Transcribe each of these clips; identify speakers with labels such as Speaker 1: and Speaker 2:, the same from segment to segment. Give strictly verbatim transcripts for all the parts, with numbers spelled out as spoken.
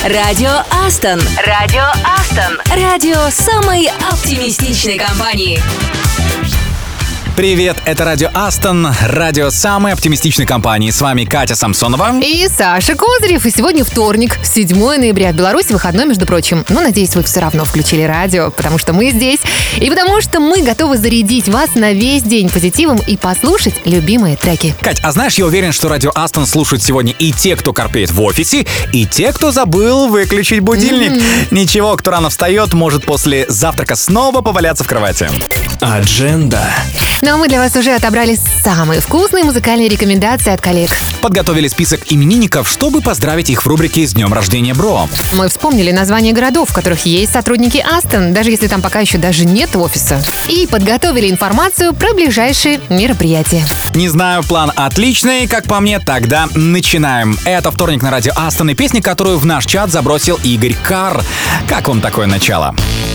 Speaker 1: Радио Астон. Радио Астон. Радио самой оптимистичной компании.
Speaker 2: Привет, это Радио Астон, радио самой оптимистичной компании. С вами Катя Самсонова
Speaker 3: и Саша Козырев. И сегодня вторник, седьмое ноября. В Беларуси выходной, между прочим. Но, надеюсь, вы все равно включили радио, потому что мы здесь. И потому что мы готовы зарядить вас на весь день позитивом и послушать любимые треки.
Speaker 2: Кать, а знаешь, я уверен, что Радио Астон слушают сегодня и те, кто корпеет в офисе, и те, кто забыл выключить будильник. Mm-hmm. Ничего, кто рано встает, может после завтрака снова поваляться в кровати. Адженда.
Speaker 3: Ну а мы для вас уже отобрали самые вкусные музыкальные рекомендации от коллег.
Speaker 2: Подготовили список именинников, чтобы поздравить их в рубрике «С днем рождения, бро».
Speaker 3: Мы вспомнили названия городов, в которых есть сотрудники Астон, даже если там пока еще даже нет офиса. И подготовили информацию про ближайшие мероприятия.
Speaker 2: Не знаю, план отличный, как по мне, тогда начинаем. Это вторник на Радио Астон и песня, которую в наш чат забросил Игорь Карр. Как вам такое начало?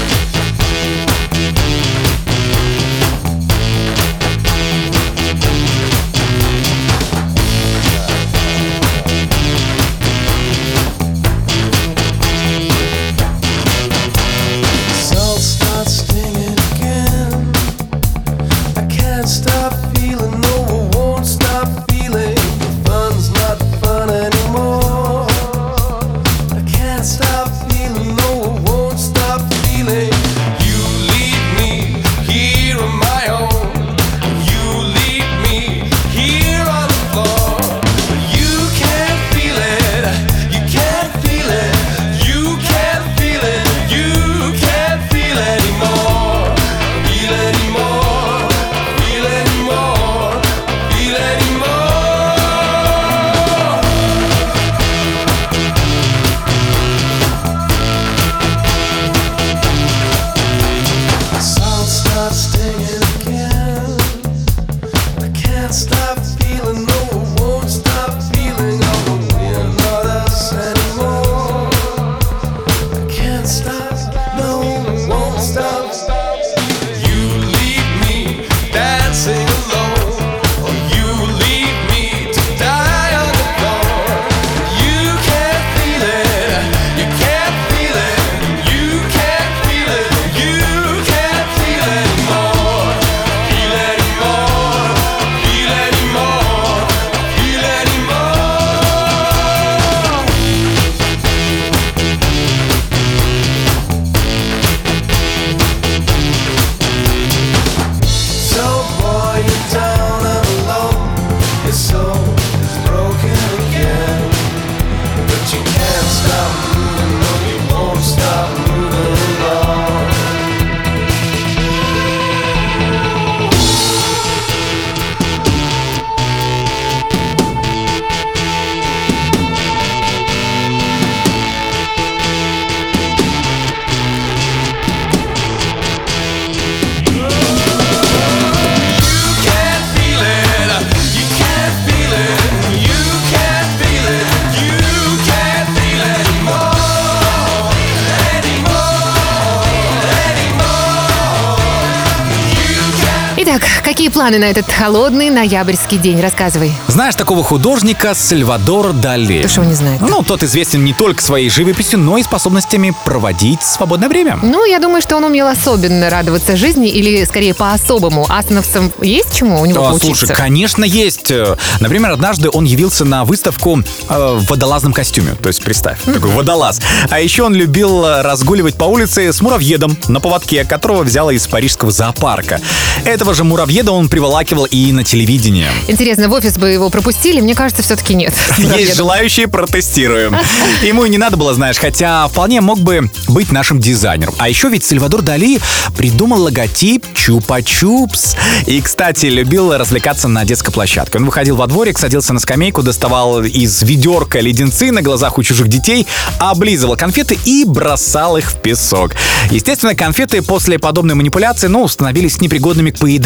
Speaker 3: Итак, какие планы на этот холодный ноябрьский день? Рассказывай.
Speaker 2: Знаешь такого художника Сальвадор Дали?
Speaker 3: Ты что, не знаешь?
Speaker 2: Ну, тот известен не только своей живописью, но и способностями проводить свободное время.
Speaker 3: Ну, я думаю, что он умел особенно радоваться жизни, или, скорее, по-особому. Астоновцам есть чему у него
Speaker 2: а,
Speaker 3: поучиться?
Speaker 2: Слушай, конечно, есть. Например, однажды он явился на выставку э, в водолазном костюме. То есть, представь, mm-hmm. такой водолаз. А еще он любил разгуливать по улице с муравьедом на поводке, которого взял из парижского зоопарка. Этого же муравьеда он приволакивал и на телевидение.
Speaker 3: Интересно, в офис бы его пропустили? Мне кажется, все-таки нет.
Speaker 2: Есть желающие, протестируем. Ему и не надо было, знаешь, хотя вполне мог бы быть нашим дизайнером. А еще ведь Сальвадор Дали придумал логотип Чупа-Чупс. И, кстати, любил развлекаться на детской площадке. Он выходил во дворик, садился на скамейку, доставал из ведерка леденцы на глазах у чужих детей, облизывал конфеты и бросал их в песок. Естественно, конфеты после подобной манипуляции, ну, становились непригодными к поеданию.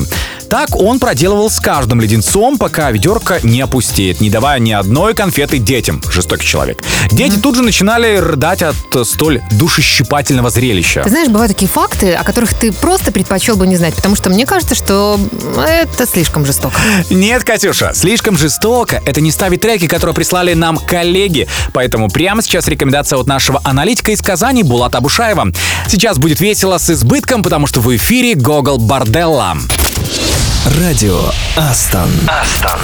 Speaker 2: Так он проделывал с каждым леденцом, пока ведерко не опустеет, не давая ни одной конфеты детям. Жестокий человек. Дети mm-hmm. тут же начинали рыдать от столь душещипательного зрелища.
Speaker 3: Ты знаешь, бывают такие факты, о которых ты просто предпочел бы не знать, потому что мне кажется, что это слишком жестоко.
Speaker 2: Нет, Катюша, слишком жестоко. Это не ставит треки, которые прислали нам коллеги. Поэтому прямо сейчас рекомендация от нашего аналитика из Казани Булата Абушаева. Сейчас будет весело с избытком, потому что в эфире Гогол Борделла.
Speaker 4: Радио Астон.
Speaker 5: Астон.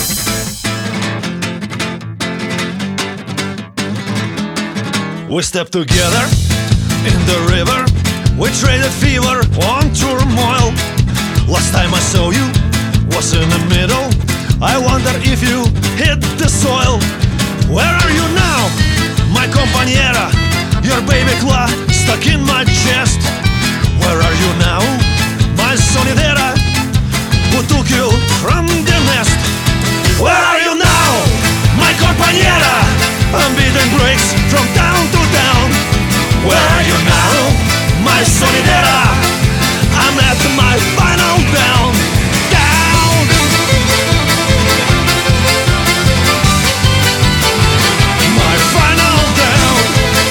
Speaker 6: We stepped together in the river. We traded fever on turmoil. Last time I saw you was in the middle. I wonder if you hit the soil. Where are you now, my compañera? Your baby claw stuck in my chest. Where are you now, my sonidera, who took you from the nest? Where are you now, my compañera? I'm beating bricks from town to town. Where are you now, my sonidera? I'm at my final down. Down. My final down.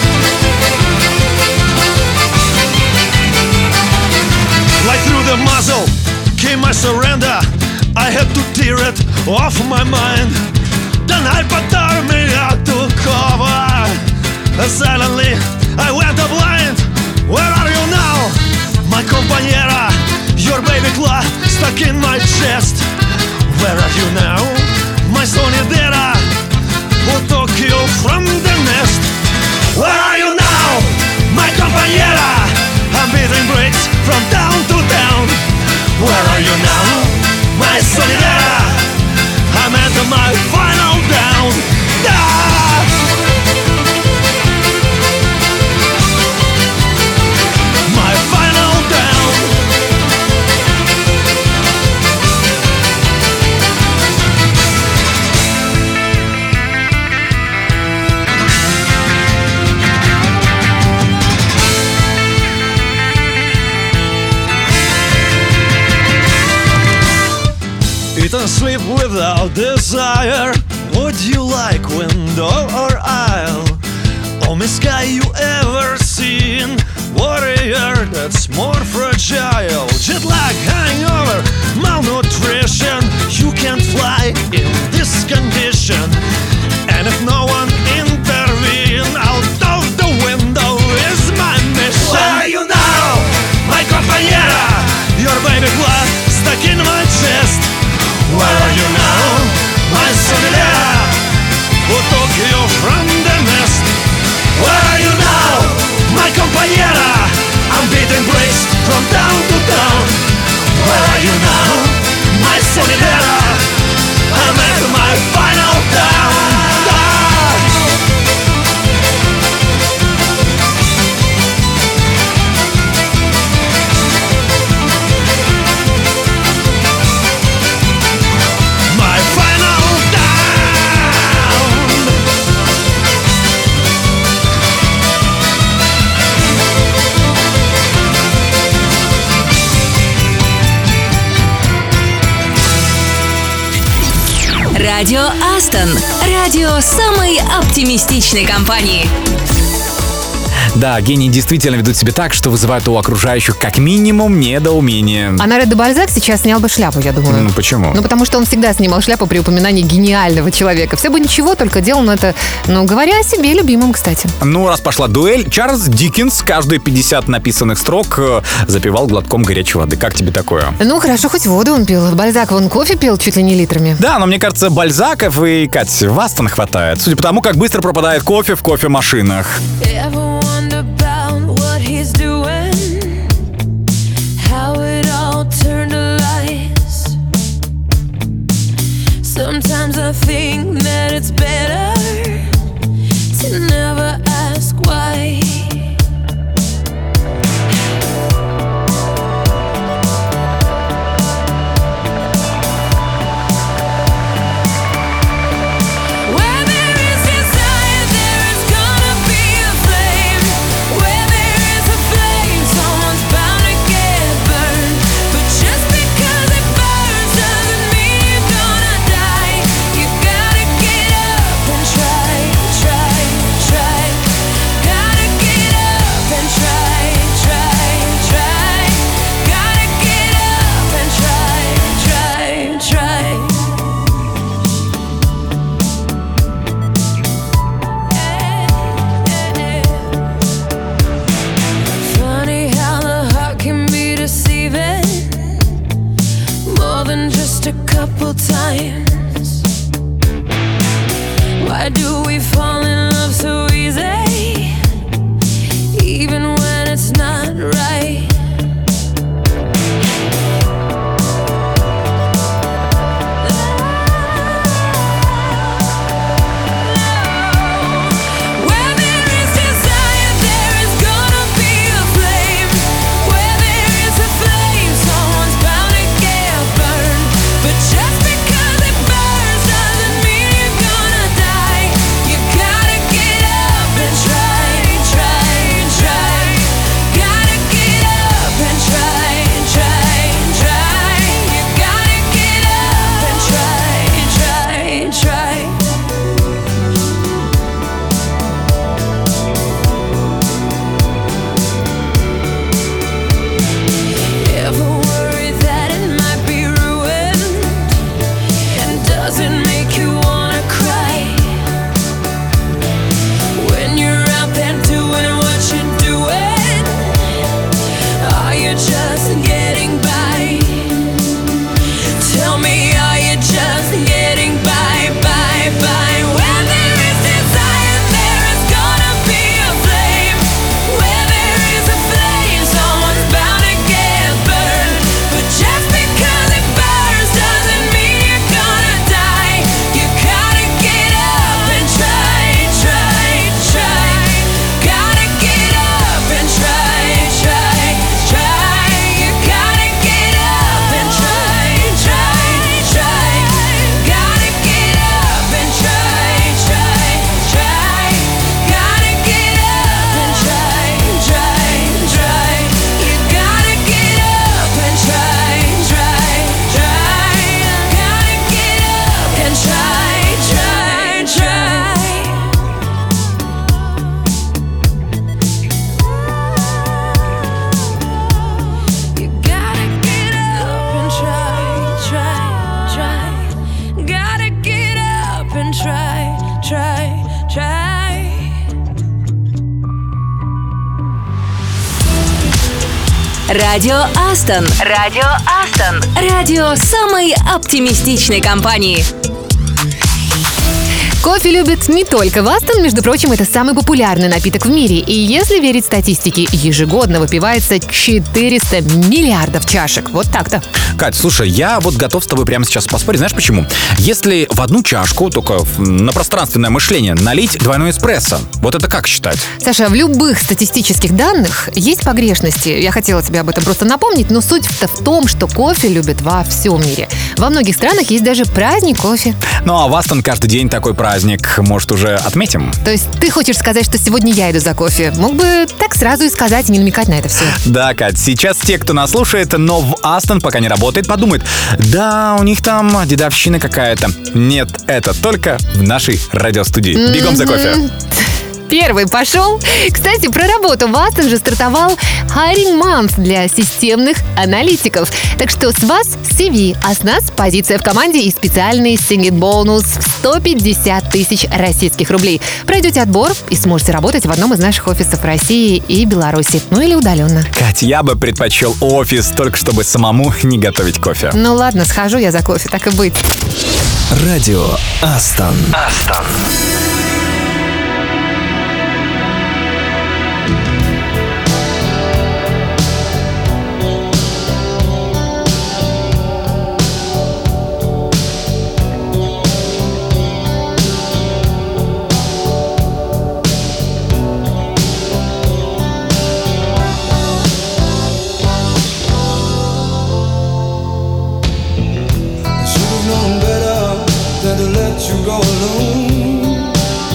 Speaker 6: Like through the muzzle came my surrender. I had to tear it off my mind. The night but me out to cover. And silently I went blind. Where are you now, my compañera? Your baby claw stuck in my chest. Where are you now, my sonidera, who took you from the nest? Where are you now, my compañera? I'm beating bricks from town to town. Where are you now, my sonidera? I'm at my final down. Ah! My final down. Eat and sleep without desire. Would you like window or aisle? Only sky you ever seen. Warrior that's more fragile. Jet lag, hangover, malnutrition. You can't fly in this condition. And if no one intervene, out of the window is my mission. Where are you now, my compañera? Your baby claw stuck in my chest. Where are you now, my sonidera, who took you from the nest? Where are you now, my compañera? I'm beating bricks from town to town. Where are you now, my sonidera? I'm at my final down. My final down.
Speaker 1: Радио Астон. Радио самой оптимистичной компании.
Speaker 2: Да, гении действительно ведут себя так, что вызывают у окружающих как минимум недоумение.
Speaker 3: А Наре де Бальзак сейчас снял бы шляпу, я думаю.
Speaker 2: Ну почему?
Speaker 3: Ну потому что он всегда снимал шляпу при упоминании гениального человека. Все бы ничего, только делал он это, ну, говоря о себе любимом, кстати.
Speaker 2: Ну, раз пошла дуэль, Чарльз Диккенс каждые пятьдесят написанных строк э, запивал глотком горячей воды. Как тебе такое?
Speaker 3: Ну, хорошо, хоть воду он пил. Бальзак вон кофе пил чуть ли не литрами.
Speaker 2: Да, но мне кажется, Бальзаков и, Кать, вас-то хватает. Судя по тому, как быстро пропадает кофе в кофемашинах.
Speaker 7: He's doing, how it all turned to lies. Sometimes I think that it's better to never ask why. Because minds. Why do we fall in love so easy, even when it's not right?
Speaker 1: Радио Астон. Радио Астон. Радио самой оптимистичной компании.
Speaker 3: Кофе любят не только в Астон, между прочим, это самый популярный напиток в мире. И если верить статистике, ежегодно выпивается четыреста миллиардов чашек. Вот так-то.
Speaker 2: Кать, слушай, я вот готов с тобой прямо сейчас поспорить. Знаешь почему? Если в одну чашку, только на пространственное мышление, налить двойной эспрессо, вот это как считать?
Speaker 3: Саша, в любых статистических данных есть погрешности. Я хотела тебе об этом просто напомнить, но суть-то в том, что кофе любят во всем мире. Во многих странах есть даже праздник кофе.
Speaker 2: Ну а в Астон каждый день такой праздник. Может, уже отметим?
Speaker 3: То есть ты хочешь сказать, что сегодня я иду за кофе? Мог бы так сразу и сказать, и не намекать на это все.
Speaker 2: Да, Кать, сейчас те, кто нас слушает, но в Астон пока не работает, подумают, да, у них там дедовщина какая-то. Нет, это только в нашей радиостудии. Бегом за кофе.
Speaker 3: Первый пошел. Кстати, про работу в Астон же стартовал Hiring Month для системных аналитиков. Так что с вас си ви, а с нас позиция в команде и специальный сингит-бонус в сто пятьдесят тысяч российских рублей. Пройдете отбор и сможете работать в одном из наших офисов России и Беларуси. Ну или удаленно.
Speaker 2: Кать, я бы предпочел офис, только чтобы самому не готовить кофе.
Speaker 3: Ну ладно, схожу я за кофе, так и быть.
Speaker 4: Радио Астон.
Speaker 6: Астон.
Speaker 5: Should've known better than to let you go alone.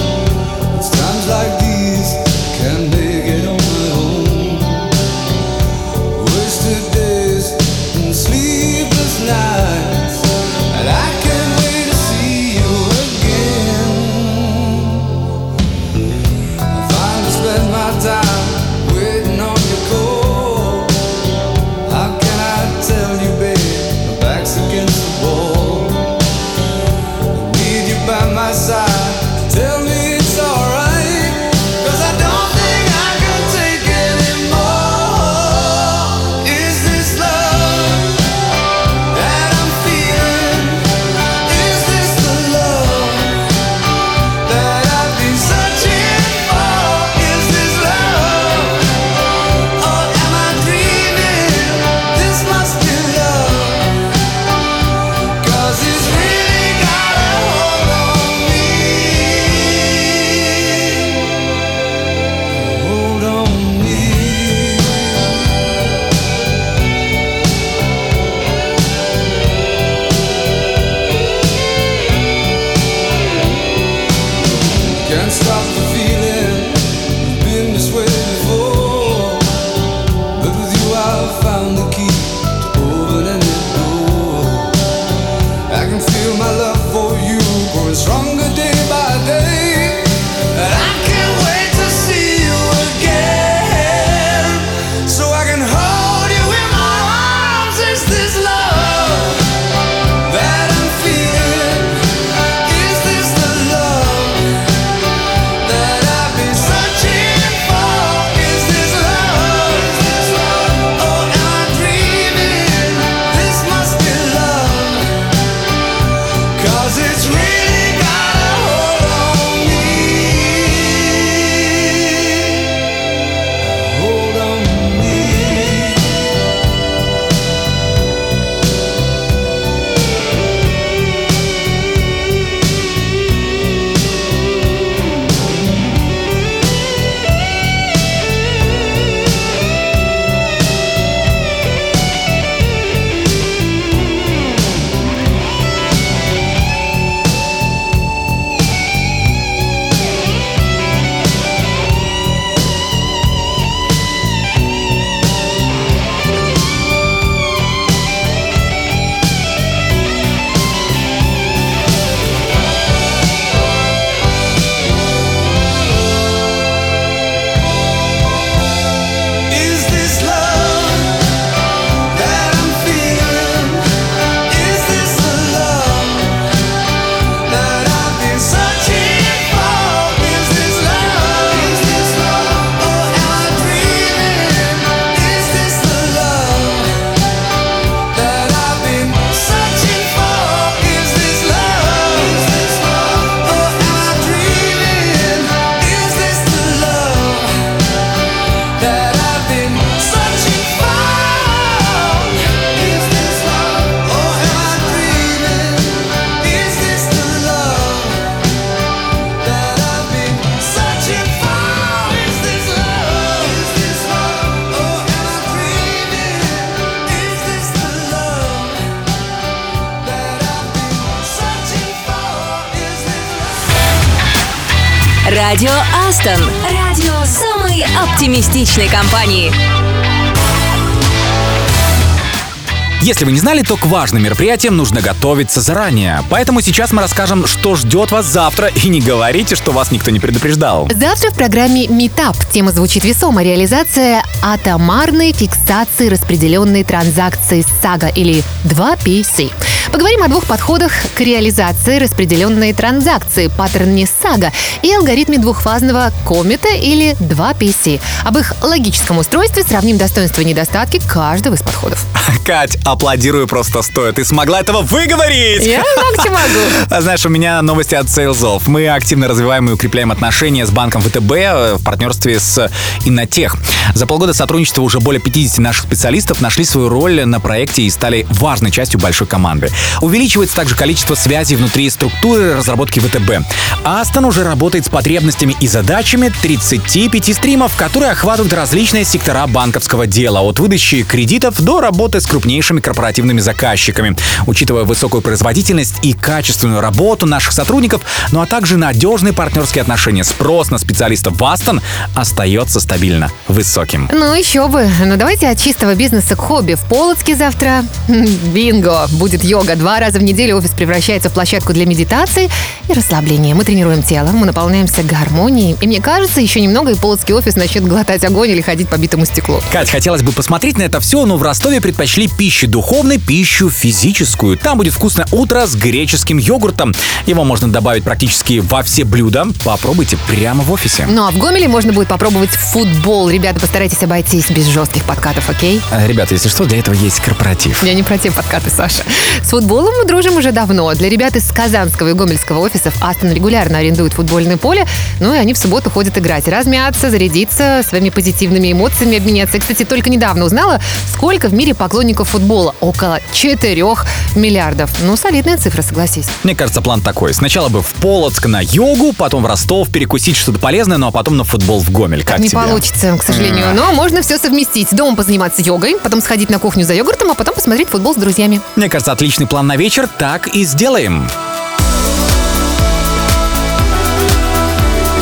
Speaker 5: Can't stop the feeling. I've been this way before, but with you I've found the key to open any door. I can feel my love for you growing stronger day by day, and I can't wait to see you again, so I can hold you in my arms. Is this love that I'm feeling? Is this the love that I've been searching for? Is this love? Oh, am I dreaming? This must be love, 'cause it's really got a hold on me. Hold on me. Is this love that I'm feeling? Is this the love that I've been searching for? Is this love? Is this love? Oh, am I dreaming? Is this the love that I've been searching for? Is this love? Is this love? Oh, am I dreaming? Is this the love that I've been searching for? Is this love? Oh, am I dreaming? Is this the love that I've been searching for? Is this love? Is this love? Oh, am I dreaming? Is this the love that I've been searching for? Is this love?
Speaker 1: Радио Астон. Радио самой оптимистичной компании.
Speaker 2: Если вы не знали, то к важным мероприятиям нужно готовиться заранее. Поэтому сейчас мы расскажем, что ждет вас завтра, и не говорите, что вас никто не предупреждал.
Speaker 3: Завтра в программе Meetup тема звучит весомо. Реализация атомарной фиксации распределенной транзакции сага или два пи си. Поговорим о двух подходах к реализации распределенной транзакции, паттерне сага и алгоритме двухфазного комета или два пи си. Об их логическом устройстве сравним достоинства и недостатки каждого из подходов.
Speaker 2: Кать, аплодирую просто стоя. Ты смогла этого выговорить!
Speaker 3: Я так могу.
Speaker 2: А знаешь, у меня новости от сейлзов. Мы активно развиваем и укрепляем отношения с банком ВТБ в партнерстве с Иннотех. За полгода сотрудничества уже более пятьдесят наших специалистов нашли свою роль на проекте и стали важной частью большой команды. Увеличивается также количество связей внутри структуры разработки ВТБ. Астон уже работает с потребностями и задачами тридцати пяти стримов, которые охватывают различные сектора банковского дела, от выдачи кредитов до работы с крупнейшими корпоративными заказчиками. Учитывая высокую производительность и качественную работу наших сотрудников, ну а также надежные партнерские отношения, спрос на специалистов в Астон остается стабильно высоким.
Speaker 3: Ну еще бы. Ну давайте от чистого бизнеса к хобби. В Полоцке завтра бинго. Будет йога. Два раза в неделю офис превращается в площадку для медитации и расслабления. Мы тренируем тело, мы наполняемся гармонией. И мне кажется, еще немного и Полоцкий офис начнет глотать огонь или ходить по битому стеклу.
Speaker 2: Кать, хотелось бы посмотреть на это все, но в Ростове предпочли пищу духовной, пищу физическую. Там будет вкусное утро с греческим йогуртом. Его можно добавить практически во все блюда. Попробуйте прямо в офисе.
Speaker 3: Ну а в Гомеле можно будет попробовать футбол. Ребята, постарайтесь обойтись без жестких подкатов, окей?
Speaker 2: А, ребята, если что, для этого есть корпоратив.
Speaker 3: Я не про те подкаты, Саша. С футболом мы дружим уже давно. Для ребят из казанского и гомельского офисов Астон регулярно арендует футбольное поле. Ну и они в субботу ходят играть. Размяться, зарядиться, своими позитивными эмоциями обменяться. Я, кстати, только недавно узнала, сколько в мире поклонников футбола. Около четырех миллиардов. Ну, солидная цифра, согласись.
Speaker 2: Мне кажется, план такой. Сначала бы в Полоцк на йогу, потом в Ростов перекусить что-то полезное, ну а потом на футбол в Гомель. Как
Speaker 3: Не
Speaker 2: тебе?
Speaker 3: получится, к сожалению. Но можно все совместить. Дома позаниматься йогой, потом сходить на кухню за йогуртом, а потом посмотреть футбол с друзьями.
Speaker 2: Мне кажется, отличный план на вечер. Так и сделаем.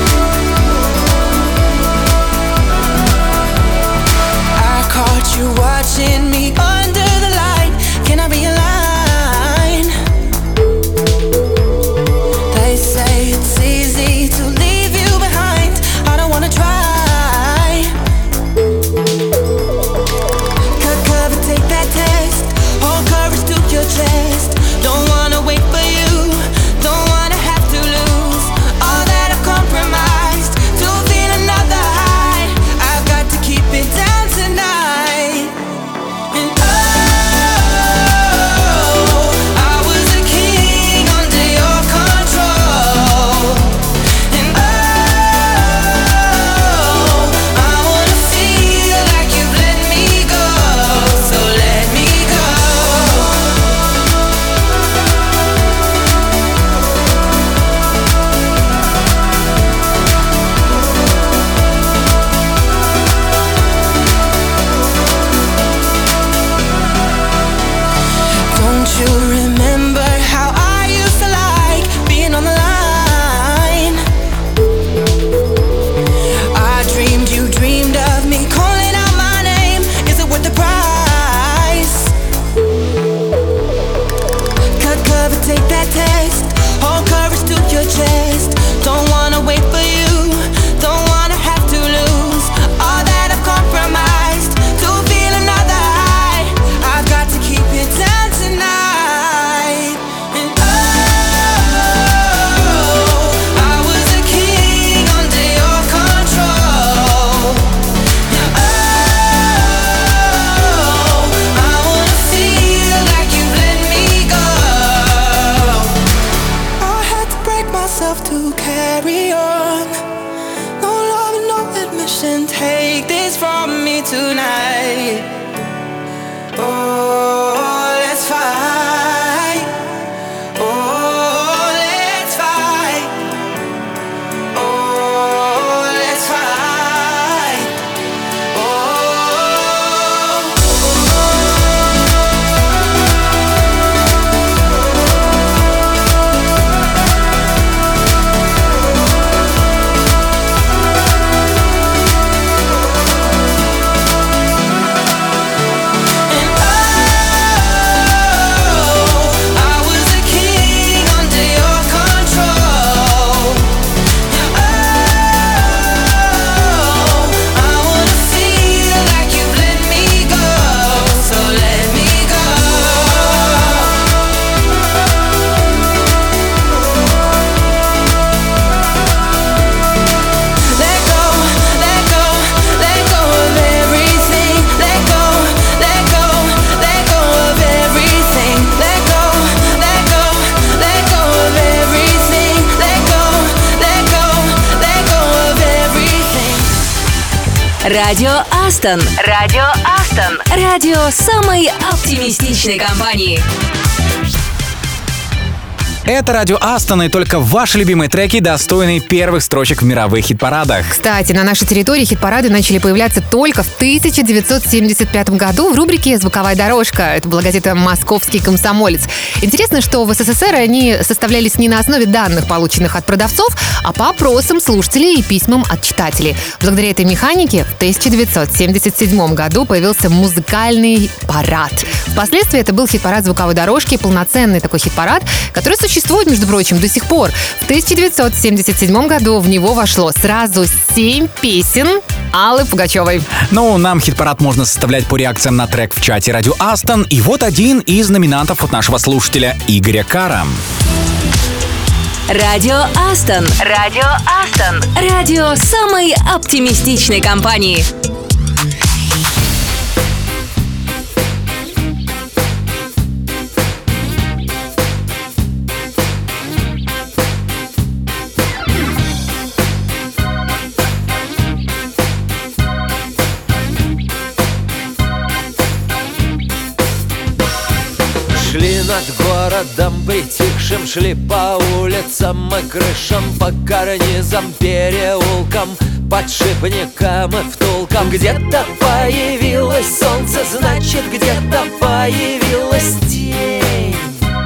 Speaker 8: and take this from me tonight. Oh, let's fight. Oh, let's fight. Oh, let's fight.
Speaker 1: Радио Астон. Радио Астон. Радио самой оптимистичной компании.
Speaker 2: Это радио Астон, и только ваши любимые треки достойны первых строчек в мировых хит-парадах.
Speaker 3: Кстати, на нашей территории хит-парады начали появляться только в тысяча девятьсот семьдесят пятом году в рубрике «Звуковая дорожка». Это была газета «Московский комсомолец». Интересно, что в СССР они составлялись не на основе данных, полученных от продавцов, а по опросам слушателей и письмам от читателей. Благодаря этой механике в тысяча девятьсот семьдесят седьмом году появился музыкальный парад. Впоследствии это был хит-парад звуковой дорожки, полноценный такой хит-парад, который существует, между прочим, до сих пор. В тысяча девятьсот семьдесят седьмом году в него вошло сразу семь песен Аллы Пугачевой.
Speaker 2: Ну, нам хит-парад можно составлять по реакциям на трек в чате радио Астон. И вот один из номинантов от нашего слушателя Игоря Кара.
Speaker 1: Радио Астон. Радио Астон. Радио самой оптимистичной компании.
Speaker 9: Шли над городом притихшим, шли по улицам и крышам, по карнизам, переулкам, подшипникам и втулкам. Где-то появилось солнце, значит, где-то появилась тень.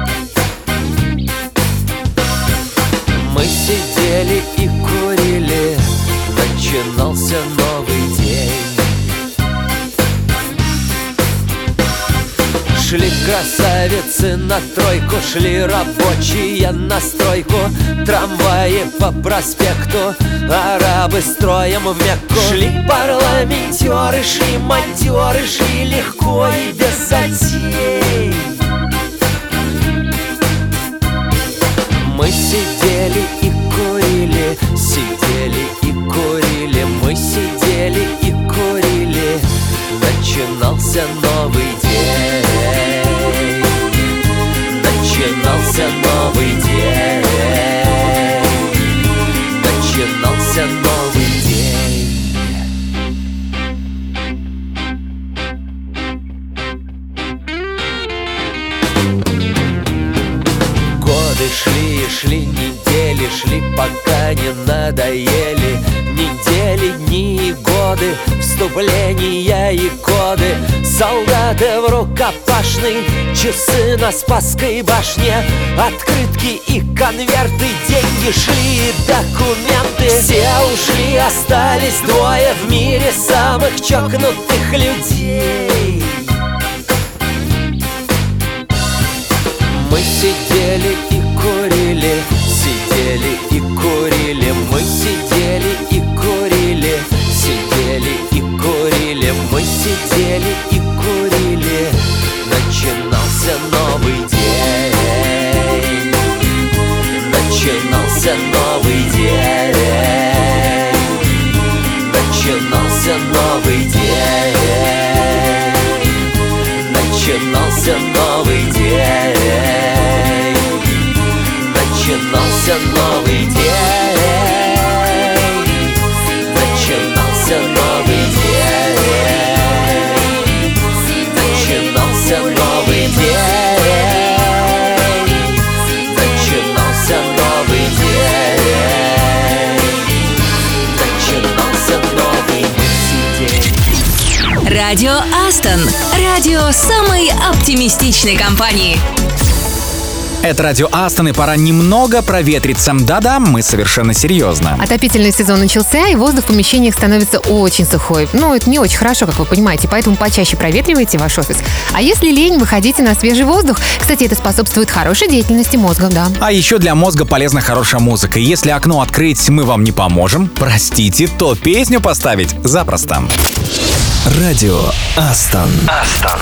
Speaker 9: Мы сидели и курили, начинался новый день. Шли красавицы на тройку, шли рабочие на стройку, трамваи по проспекту, арабы строем в Мекку. Шли парламентеры, шли монтеры, шли легко и без затей. Мы сидели и курили, сидели и курили, мы сидели и курили, начинался новый день. Начинался новый день. Начинался новый день. Годы шли и шли, недели шли, пока не надоели. Недели, дни и годы, вступления и коды. Солдаты в рукопашной, часы на Спасской башне, открытки и конверты, деньги шли и документы. Все ушли, остались двое в мире самых чокнутых людей. Мы сидели и курили, сидели и курили, мы сидели и курили, сидели и курили, мы сидели и курили, начинался новый день. Начинался новый день. Начинался новый день. Начинался новый день. Начинался новый день.
Speaker 1: Радио Астон. Радио самой оптимистичной компании.
Speaker 2: Это радио Астон, и пора немного проветриться. Да-да, мы совершенно серьезно.
Speaker 3: Отопительный сезон начался, и воздух в помещениях становится очень сухой. Ну, это не очень хорошо, как вы понимаете, поэтому почаще проветривайте ваш офис. А если лень, выходите на свежий воздух. Кстати, это способствует хорошей деятельности мозга, да.
Speaker 2: А еще для мозга полезна хорошая музыка. Если окно открыть мы вам не поможем, простите, то песню поставить запросто.
Speaker 4: Радио Астон.
Speaker 9: Астон.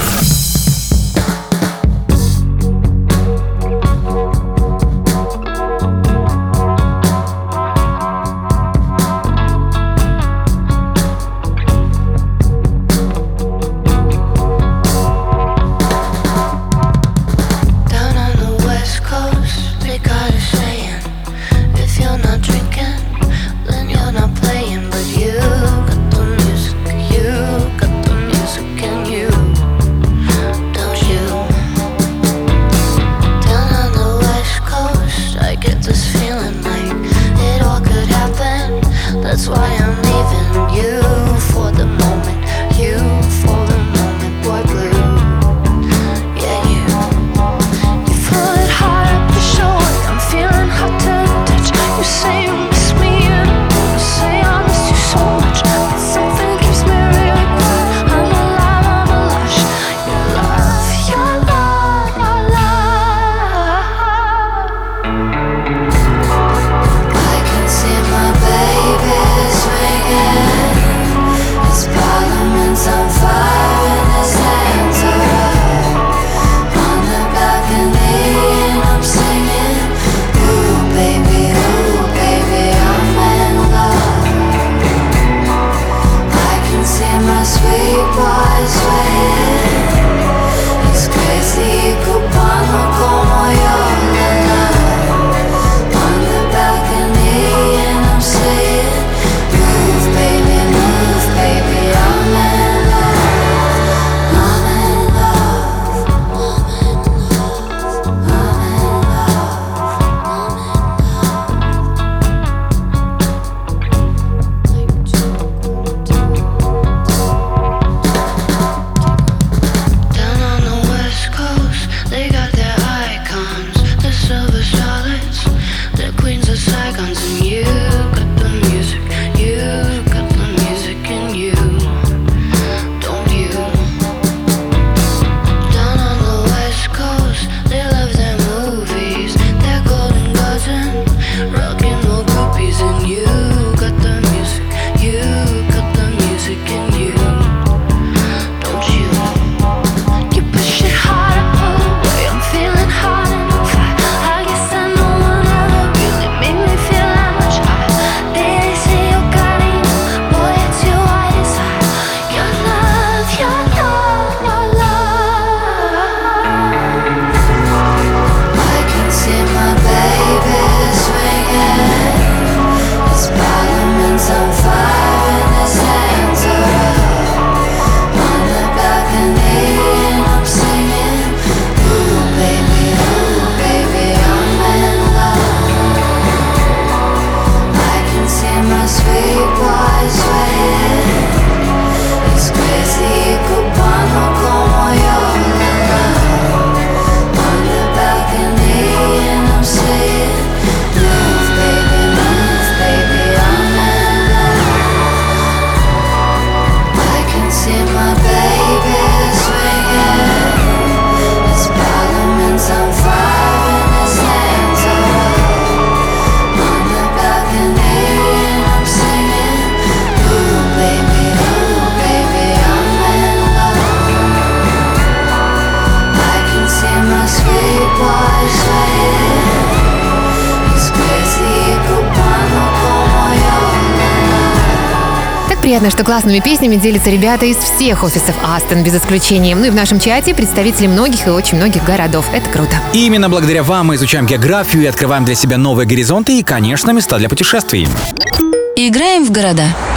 Speaker 3: Приятно, что классными песнями делятся ребята из всех офисов Астон, без исключения. Ну и в нашем чате представители многих и очень многих городов. Это круто.
Speaker 2: И именно благодаря вам мы изучаем географию и открываем для себя новые горизонты и, конечно, места для путешествий.
Speaker 1: Играем в города.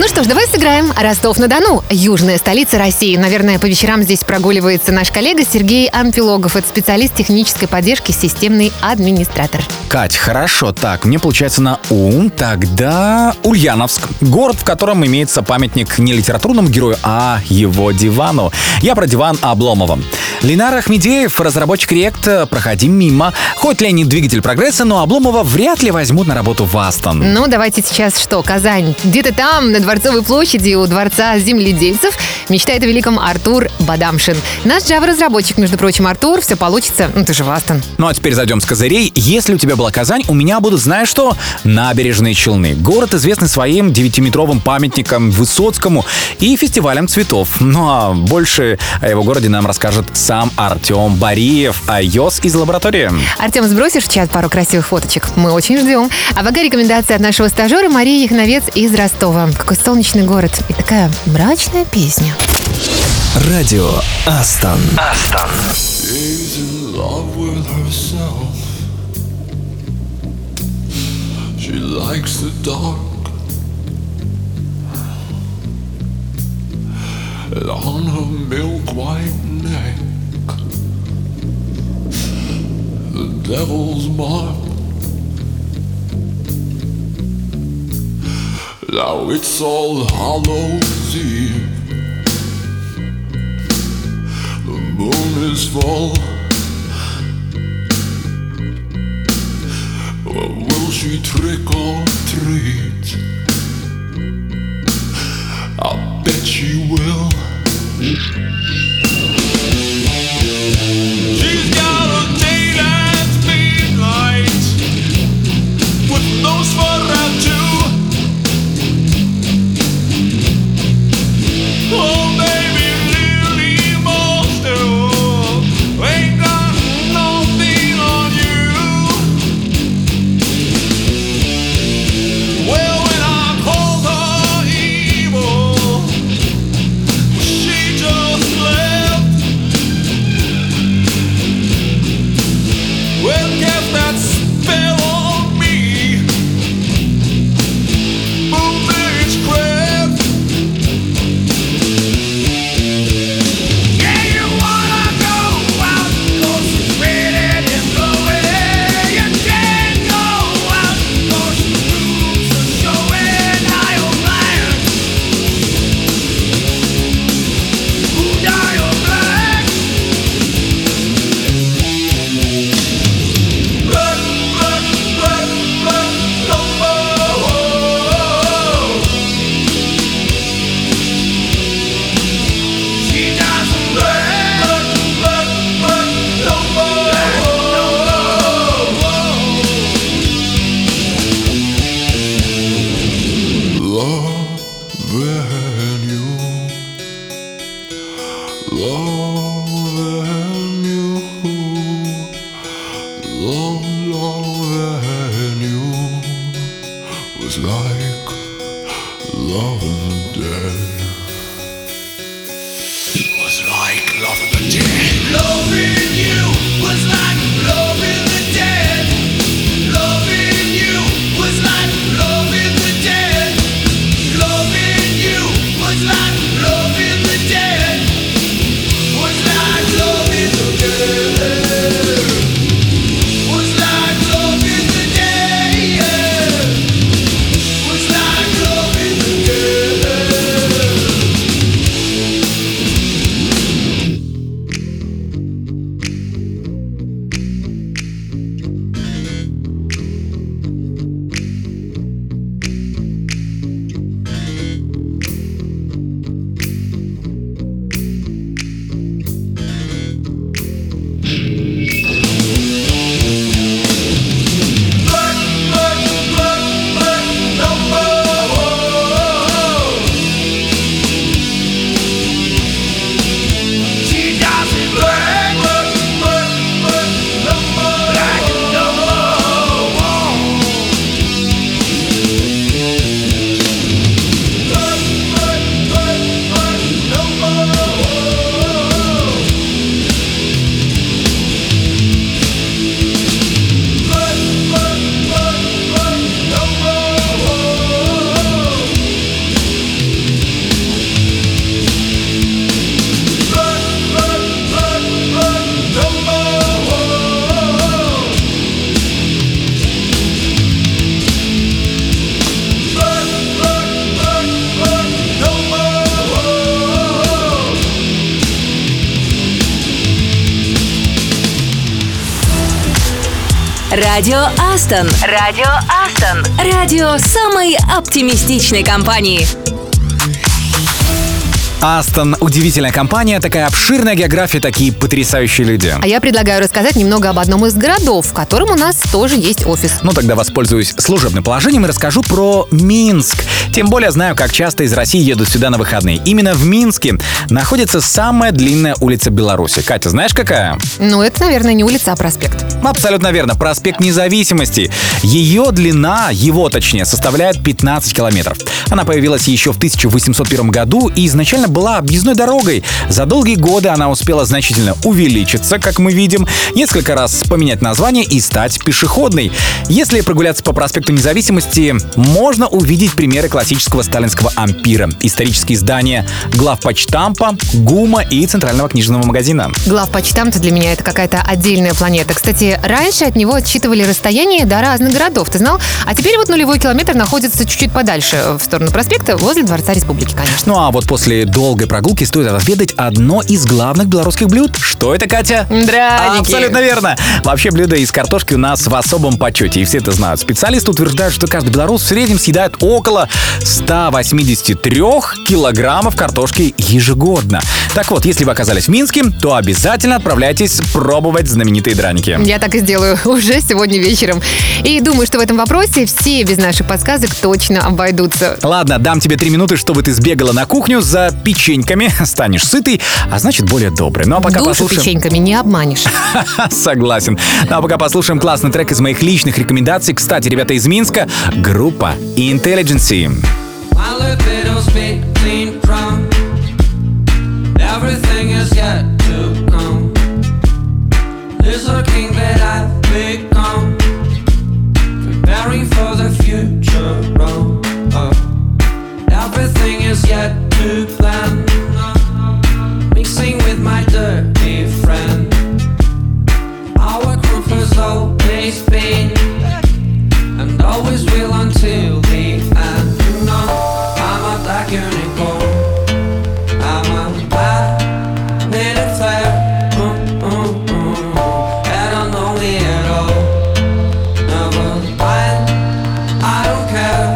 Speaker 3: Ну что ж, давай сыграем. Ростов-на-Дону, южная столица России. Наверное, по вечерам здесь прогуливается наш коллега Сергей Амфилогов. Это специалист технической поддержки, системный администратор.
Speaker 2: Кать, хорошо. Так, мне получается на ум. Тогда Ульяновск. Город, в котором имеется памятник не литературному герою, а его дивану. Я про диван Обломова. Ленар Ахмедеев, разработчик React, проходи мимо. Хоть Ленин двигатель прогресса, но Обломова вряд ли возьмут на работу в Астон.
Speaker 3: Ну, давайте сейчас что, Казань. Где-то там, на Дворцовой площади у Дворца земледельцев, мечтает о великом Артур Бадамшин. Наш Java-разработчик, между прочим, Артур, все получится. Ну, ты же в Астон.
Speaker 2: Ну, а теперь зайдем с козырей. Если у тебя была Казань, у меня будут, знаешь что? Набережные Челны. Город известный своим девятиметровым памятником Высоцкому и фестивалем цветов. Ну, а больше о его городе нам расскажет сам Артем Бариев, iOS из лаборатории.
Speaker 3: Артем, сбросишь в чат пару красивых фоточек? Мы очень ждем. А пока рекомендация от нашего стажера Марии Яхновец из Ростова. Какой солнечный город и такая мрачная песня.
Speaker 4: Радио Астон. Астон.
Speaker 5: She's in love with herself. She likes the dark. And on her milk white neck, the devil's mark. Now it's All Hallows Eve. The moon is full. Well, will she trick or treat? I bet she will. She's got a date at midnight with Nosferatu. Oh, baby, really most of ain't got nothing on you. Well, when I called her evil, she just left. Well, cast that spell on me. Boom, bitch, crap. Yeah, you wanna go out, 'cause it's raining and blowing. You can't go out, 'cause the rules are showing how you're blind. Ooh, now you're blind. Blood, blood, blood, blood, no more. She doesn't blood, blood, blood, no more. Loving you, loving you, love, loving you was like loving the dead. It was like loving the dead. Loving you was like loving the dead. Loving you was like loving the dead. Loving you was like loving the dead. Was like loving the dead. Was like loving the dead. Was like loving the dead.
Speaker 1: Радио Астон. Радио Астон. Радио самой оптимистичной компании.
Speaker 2: Астон — удивительная компания, такая обширная география, такие потрясающие люди.
Speaker 3: А я предлагаю рассказать немного об одном из городов, в котором у нас тоже есть офис.
Speaker 2: Ну тогда воспользуюсь служебным положением и расскажу про Минск. Тем более знаю, как часто из России едут сюда на выходные. Именно в Минске находится самая длинная улица Беларуси. Катя, знаешь, какая?
Speaker 3: Ну, это, наверное, не улица, а проспект.
Speaker 2: Абсолютно верно. Проспект Независимости. Ее длина, его точнее, составляет пятнадцать километров. Она появилась еще в тысяча восемьсот первом году и изначально была объездной дорогой. За долгие годы она успела значительно увеличиться, как мы видим, несколько раз поменять название и стать пешеходной. Если прогуляться по проспекту Независимости, можно увидеть примеры классического сталинского ампира, исторические здания главпочтампа, ГУМа и Центрального книжного магазина.
Speaker 3: Главпочтамт для меня это какая-то отдельная планета. Кстати, раньше от него отсчитывали расстояние до разных городов, ты знал? А теперь вот нулевой километр находится чуть-чуть подальше, в сторону проспекта, возле Дворца Республики, конечно.
Speaker 2: Ну а вот после долгой прогулки стоит отведать одно из главных белорусских блюд. Что это, Катя?
Speaker 3: Драники.
Speaker 2: Абсолютно верно. Вообще блюдо из картошки у нас в особом почете, и все это знают. Специалисты утверждают, что каждый белорус в среднем съедает около ста восьмидесяти трёх килограммов картошки ежегодно. Так вот, если вы оказались в Минске, то обязательно отправляйтесь пробовать знаменитые драники.
Speaker 3: Я так и сделаю уже сегодня вечером. И думаю, что в этом вопросе все без наших подсказок точно обойдутся.
Speaker 2: Ладно, дам тебе три минуты, чтобы ты сбегала на кухню за печеньками, станешь сытой, а значит более доброй. Ну а пока
Speaker 3: Душу
Speaker 2: послушаем...
Speaker 3: печеньками не обманешь.
Speaker 2: Согласен. Ну а пока послушаем классный трек из моих личных рекомендаций. Кстати, ребята из Минска, группа Intelligency.
Speaker 5: My libido's been clean from everything is yet to come. There's a king that I've become, preparing for the future. Oh, everything is yet to plan, mixing with my dirty friend. Our group has always been and always will until the end. You know, I'm a black unicorn. I'm a black native flare. Mm, mm, mm. I don't know me at all. Never mind, I don't care.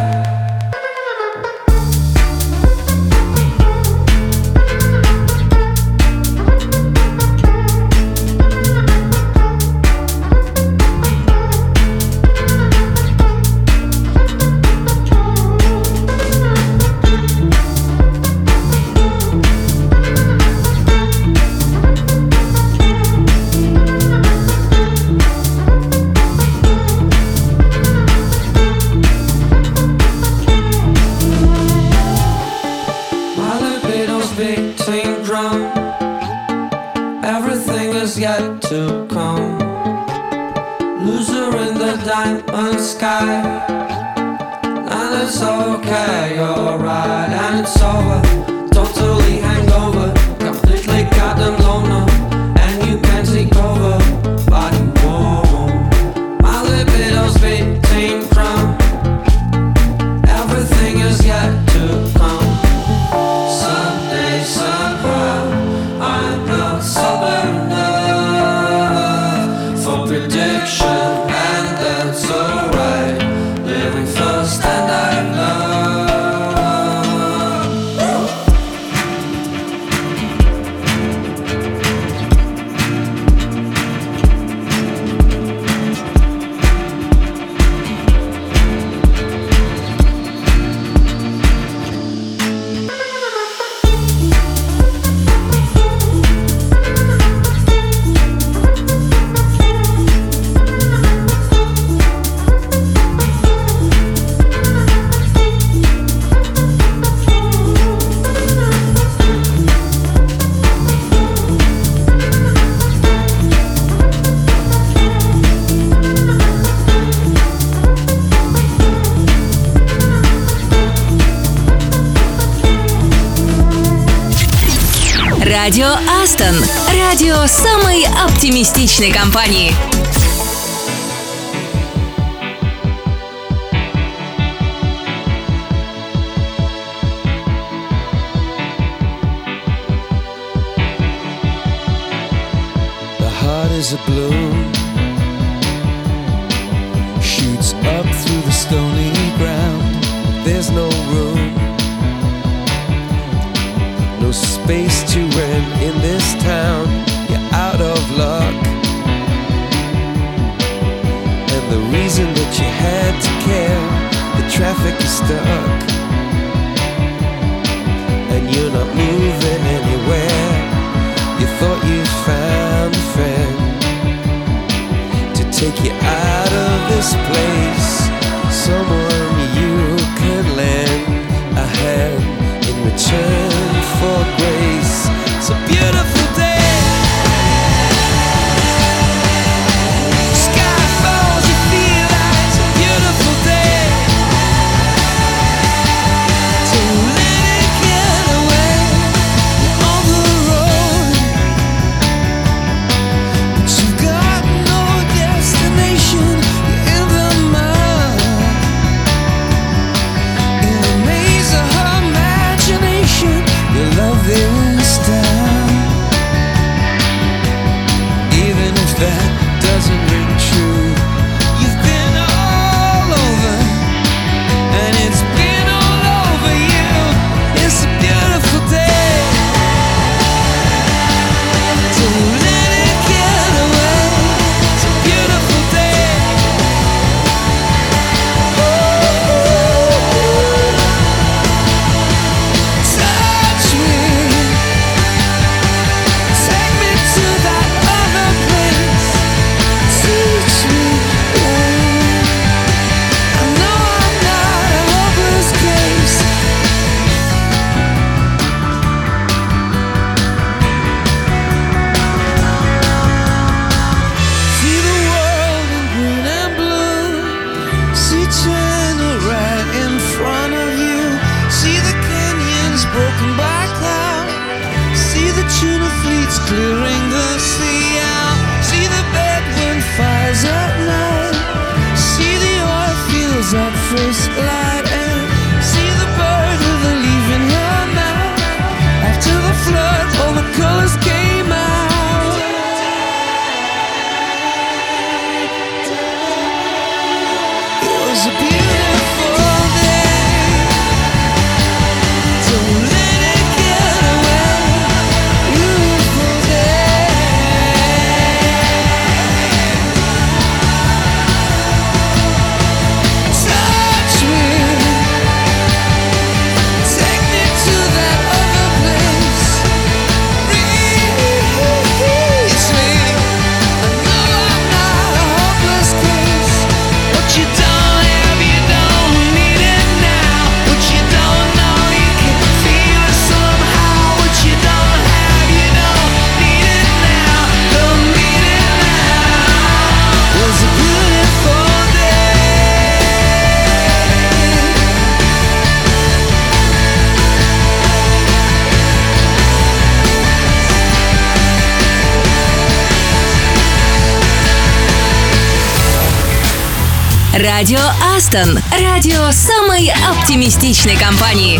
Speaker 5: My libido's beating drum. Everything is yet to come. Loser in the diamond sky. And it's okay, you're right. And it's over, totally hangover. Completely goddamn loner. And you can't take over, but you won't. My libido's beating drum. Everything is yet to come. Someday, somehow, I'm not sober enough for prediction, and that's alright. Living first, and I love.
Speaker 1: Радио Астон. Радио самой оптимистичной компании.
Speaker 6: The heart is a blue,
Speaker 5: walk through the stony ground. There's no room, no space to rent in this town. You're out of luck, and the reason that you had to care, the traffic is stuck, and you're not moving anywhere. You thought you found a friend to take you out of this place, someone you could lend a hand in return for grace. It's a beautiful day. Sky falls, you feel like it's a beautiful day. Don't let it get away. You're on the road, but you've got no destination. You're in the mud, in a maze of her imagination. Your love is down, even if that doesn't ring true. You've been all over, and it's been all over you. It's a beautiful day. Don't let it get away. It's a beautiful day. Touch me, take me to that other place. Teach me, I know I'm not a hopeless case. See the world in green and blue. See China right in front of you. See the canyons broken by cloud. See the tuna fleets clearing the sea out. See the bedroom fires at night. See the oil fields at first light. And see the bird with a leaf in her mouth. After the flood, all the colors came out. It was a beautiful day. Don't let it get away. Beautiful day. Touch me, take me to that other place. Reach me, I know I'm not a hopeless case. What you don't have, you don't need it now. What you don't know, you can feel it somehow. What you don't have, you don't need it now. Don't need it now. It was a beautiful day.
Speaker 1: Радио Астон. Радио самой оптимистичной компании.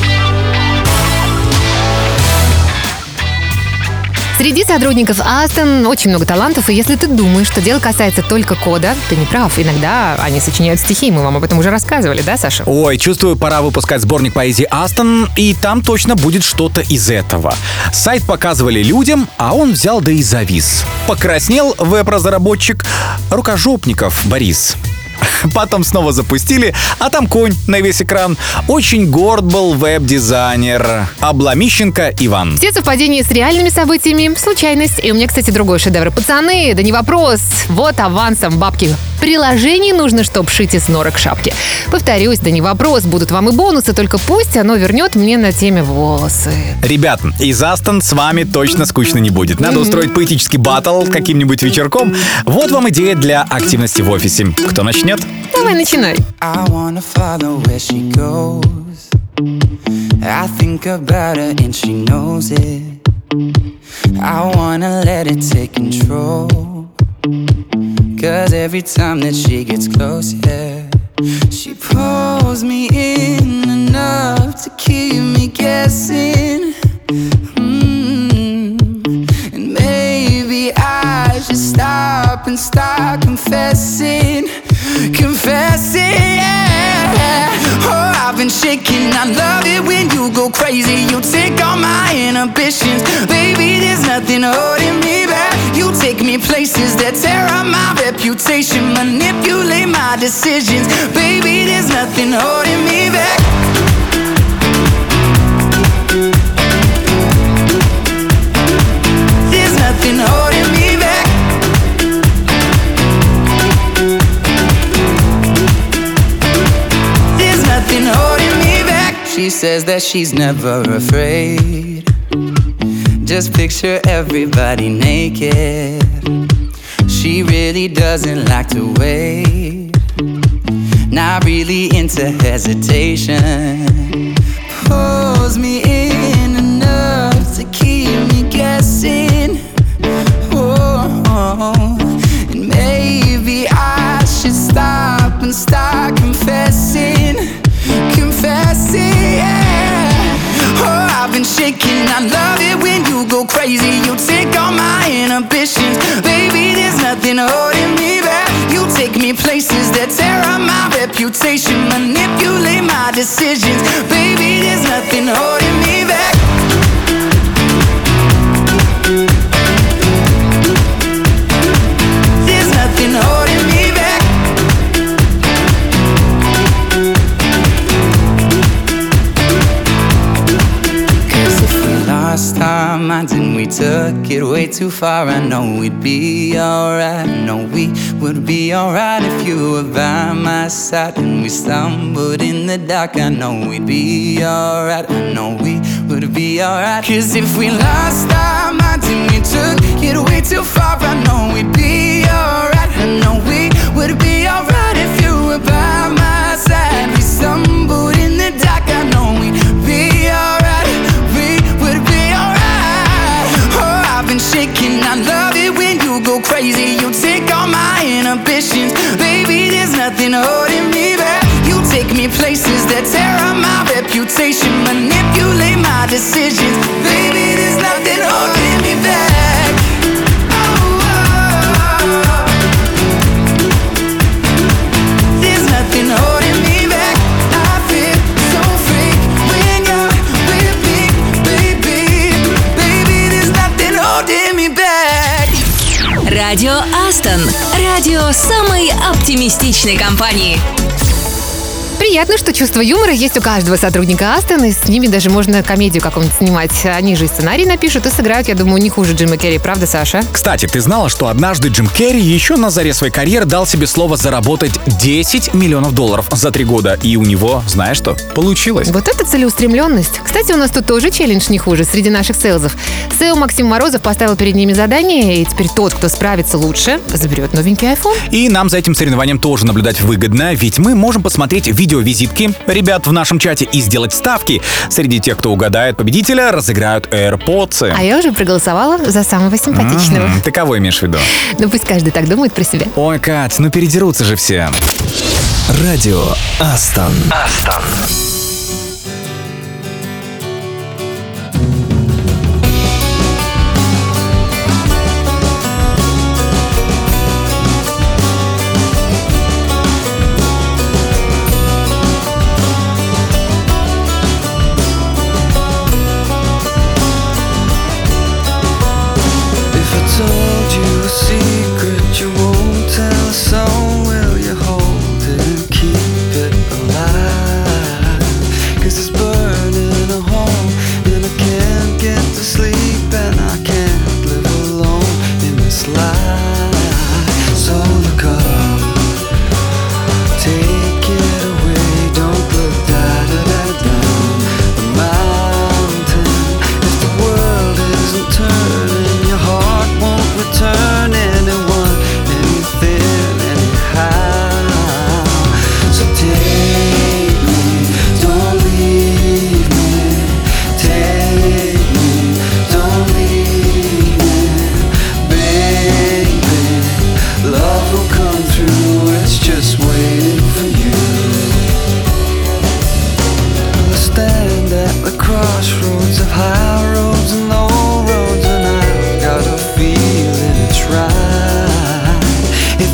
Speaker 3: Среди сотрудников Астон очень много талантов, и если ты думаешь, что дело касается только кода, ты не прав. Иногда они сочиняют стихи, мы вам об этом уже рассказывали, да, Саша?
Speaker 2: Ой, чувствую, пора выпускать сборник поэзии Астон, и там точно будет что-то из этого. Сайт показывали людям, а он взял да и завис. Покраснел веб-разработчик Рукожопников Борис. Потом снова запустили, а там конь на весь экран. Очень горд был веб-дизайнер Обломищенко Иван.
Speaker 3: Все совпадения с реальными событиями — случайность. И у меня, кстати, другой шедевр. Пацаны, да не вопрос. Вот авансом бабки. Приложений нужно, чтоб шить из норок шапки. Повторюсь, да не вопрос. Будут вам и бонусы, только пусть оно вернет мне на теме волосы.
Speaker 2: Ребят, из Астон с вами точно скучно не будет. Надо устроить поэтический баттл каким-нибудь вечерком. Вот вам идея для активности в офисе. Кто начнет?
Speaker 3: Давай, начинай.
Speaker 8: I wanna follow where she goes. I think about her and she knows it. I wanna let it take control. Cause every time that she gets close, yeah, she pulls me in enough to keep me guessing. Mm. And maybe I should stop and start confessing. Confessing shaking. I love it when you go crazy. You take all my inhibitions. Baby, there's nothing holding me back. You take me places that tear up my reputation, manipulate my decisions. Baby, there's nothing holding me back. There's nothing holding me back. There's nothing holding me back. She says that she's never afraid. Just picture everybody naked. She really doesn't like to wait. Not really into hesitation. Pulls me in enough to keep me guessing. Oh, and maybe I should stop and start confessing. Confessing, yeah. Oh, I've been shaking. I love it when you go crazy. You take all my inhibitions. Baby, there's nothing holding me back. You take me places that tear up my reputation, manipulate my decisions. Baby, there's nothing holding me back. There's nothing holding me back. Lost our minds and we took it way too far. I know we'd be alright. I know we would be alright if you were by my side. And we stumbled in the dark. I know we'd be alright. I know we would be alright. Cause if we lost our minds and we took it way too far, I know we'd be alright. I know we would be alright if you were by my side. We stumbled in the dark. I know we'd be alright. I've been shaking. I love it when you go crazy. You take all my inhibitions. Baby, there's nothing holding me back. You take me places that tear up my reputation, manipulate my decisions. Baby, there's nothing holding me back. Oh, oh. There's nothing holding me back. I feel so free when you're with me, baby. Baby, there's nothing holding me back.
Speaker 1: Радио Астон. Радио самой оптимистичной компании.
Speaker 3: Приятно, что чувство юмора есть у каждого сотрудника Астон, и с ними даже можно комедию какую-нибудь снимать. Они же и сценарий напишут, и сыграют, я думаю, не хуже Джима Керри, правда, Саша?
Speaker 2: Кстати, ты знала, что однажды Джим Керри еще на заре своей карьеры дал себе слово заработать десять миллионов долларов за три года, и у него, знаешь что, получилось.
Speaker 3: Вот это целеустремленность. Кстати, у нас тут тоже челлендж не хуже среди наших сейлзов. Сео Максим Морозов поставил перед ними задание, и теперь тот, кто справится лучше, заберет новенький айфон.
Speaker 2: И нам за этим соревнованием тоже наблюдать выгодно, ведь мы можем посмотреть видео-визитки ребят в нашем чате и сделать ставки. Среди тех, кто угадает победителя, разыграют AirPods.
Speaker 3: А я уже проголосовала за самого симпатичного.
Speaker 2: М-м, ты кого имеешь в виду?
Speaker 3: Ну пусть каждый так думает про себя.
Speaker 2: Ой, Кать, ну передерутся же все.
Speaker 4: Радио Астон.
Speaker 9: Астон.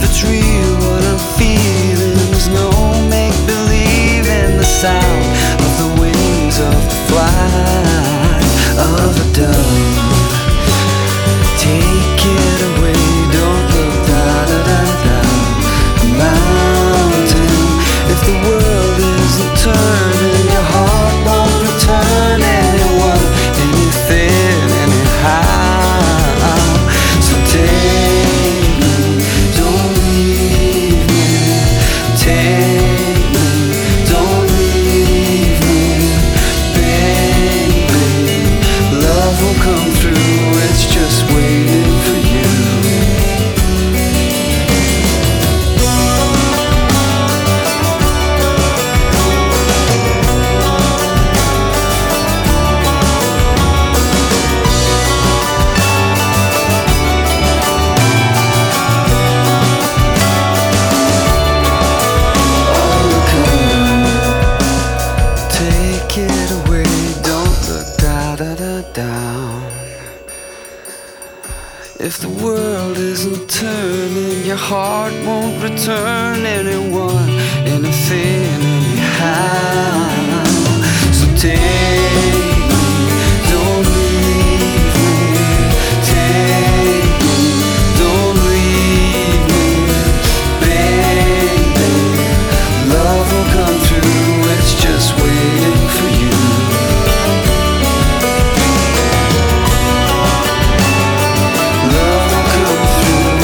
Speaker 8: Sound of dumb. Take it away, don't look da da da da. Mountain, if the world isn't turning, your heart won't return anyone, anything, anyhow. So take me, don't leave me. Take me, don't leave me, baby. Love will come through, it's just waiting for you. Take it away, don't look da da da down. If the world isn't turning, your heart won't return anyone, anything, anyhow. So take me, don't leave me. Take me, don't leave me, baby. Love will come through, it's just waiting for you. Love will come through.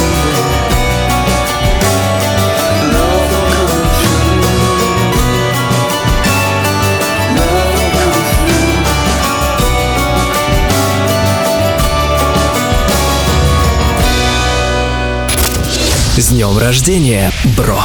Speaker 8: Love will come through. Love will come through.
Speaker 4: С днем рождения, бро!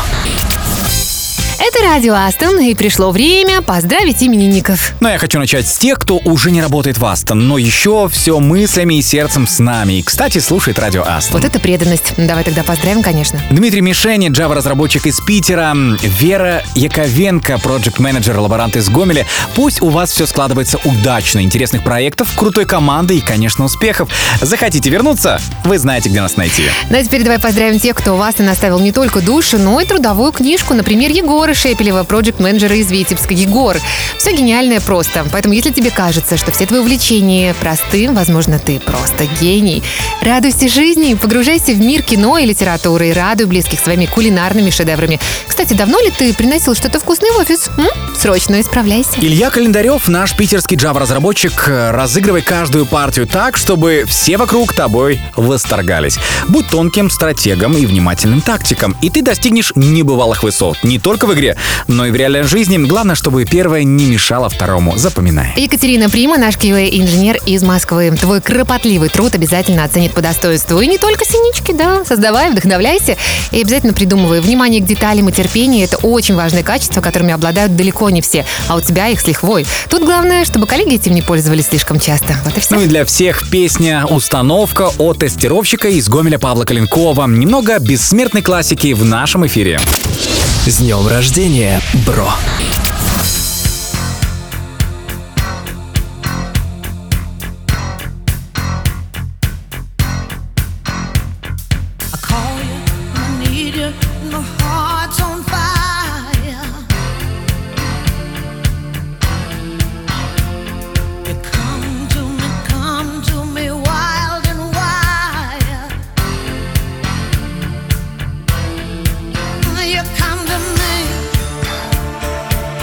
Speaker 3: Это радио Астон, и пришло время поздравить именинников.
Speaker 2: Но я хочу начать с тех, кто уже не работает в Астон, но еще все мыслями и сердцем с нами. И, кстати, слушает радио Астон.
Speaker 3: Вот это преданность. Давай тогда поздравим, конечно.
Speaker 2: Дмитрий Мишени, Java-разработчик из Питера, Вера Яковенко, проект-менеджер, лаборант из Гомеля. Пусть у вас все складывается удачно, интересных проектов, крутой команды и, конечно, успехов. Захотите вернуться? Вы знаете, где нас найти.
Speaker 3: Ну а теперь давай поздравим тех, кто у вас и наставил не только душу, но и трудовую книжку. Например, Егора Шепелева, проект-менеджера из Витебска. Егор, все гениальное просто. Поэтому, если тебе кажется, что все твои увлечения просты, возможно, ты просто гений. Радуйся жизни, погружайся в мир кино и литературы и радуй близких своими кулинарными шедеврами. Кстати, давно ли ты приносил что-то вкусное в офис? М? Срочно исправляйся.
Speaker 2: Илья Календарев, наш питерский Java-разработчик, разыгрывай каждую партию так, чтобы все вокруг тобой восторгались. Будь тонким стратегом и внимательным тактиком, и ты достигнешь небывалых высот. Не только в игре, но и в реальной жизни. Главное, чтобы первое не мешало второму. Запоминай.
Speaker 3: Екатерина Прима, наш кью эй-инженер из Москвы. Твой кропотливый труд обязательно оценит по достоинству. И не только синички, да. Создавай, вдохновляйся. И обязательно придумывай. Внимание к деталям и терпение — это очень важные качества, которыми обладают далеко не все. А у тебя их с лихвой. Тут главное, чтобы коллеги этим не пользовались слишком часто. Вот и все.
Speaker 2: Ну и для всех песня «Установка» от тестировщика из Гомеля Павла Коленкова. Немного бессмертной классики в нашем эфире.
Speaker 4: С днем рождения, бро!
Speaker 10: You come to me